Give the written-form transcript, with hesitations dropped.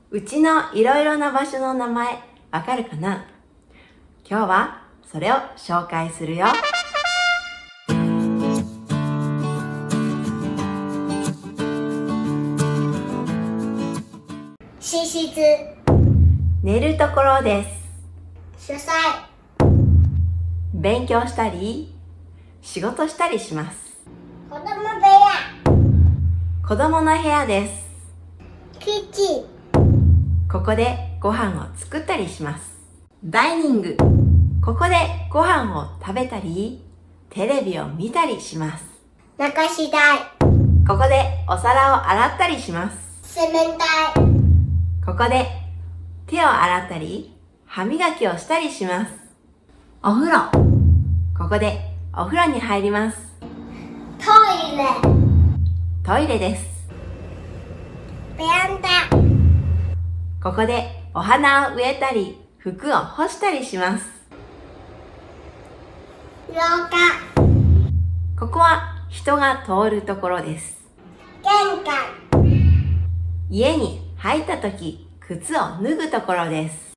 うちのいろいろな場所の名前、わかるかな？今日はそれを紹介するよ。 寝室、 寝るところです。 書斎、 勉強したり、仕事したりします。 子供部屋、 子供の部屋です。 キッチン、 ここでご飯を作ったりします。ダイニング、ここでご飯を食べたり、テレビを見たりします。 流し台、 ここでお皿を洗ったりします。 洗面台、 ここで手を洗ったり、歯磨きをしたりします。お風呂、ここでお風呂に入ります。 トイレ、 トイレです。 ベランダ、 ここでお花を植えたり、服を干したりします。 廊下、 ここは人が通るところです。 玄関、 家に入ったとき、靴を脱ぐところです。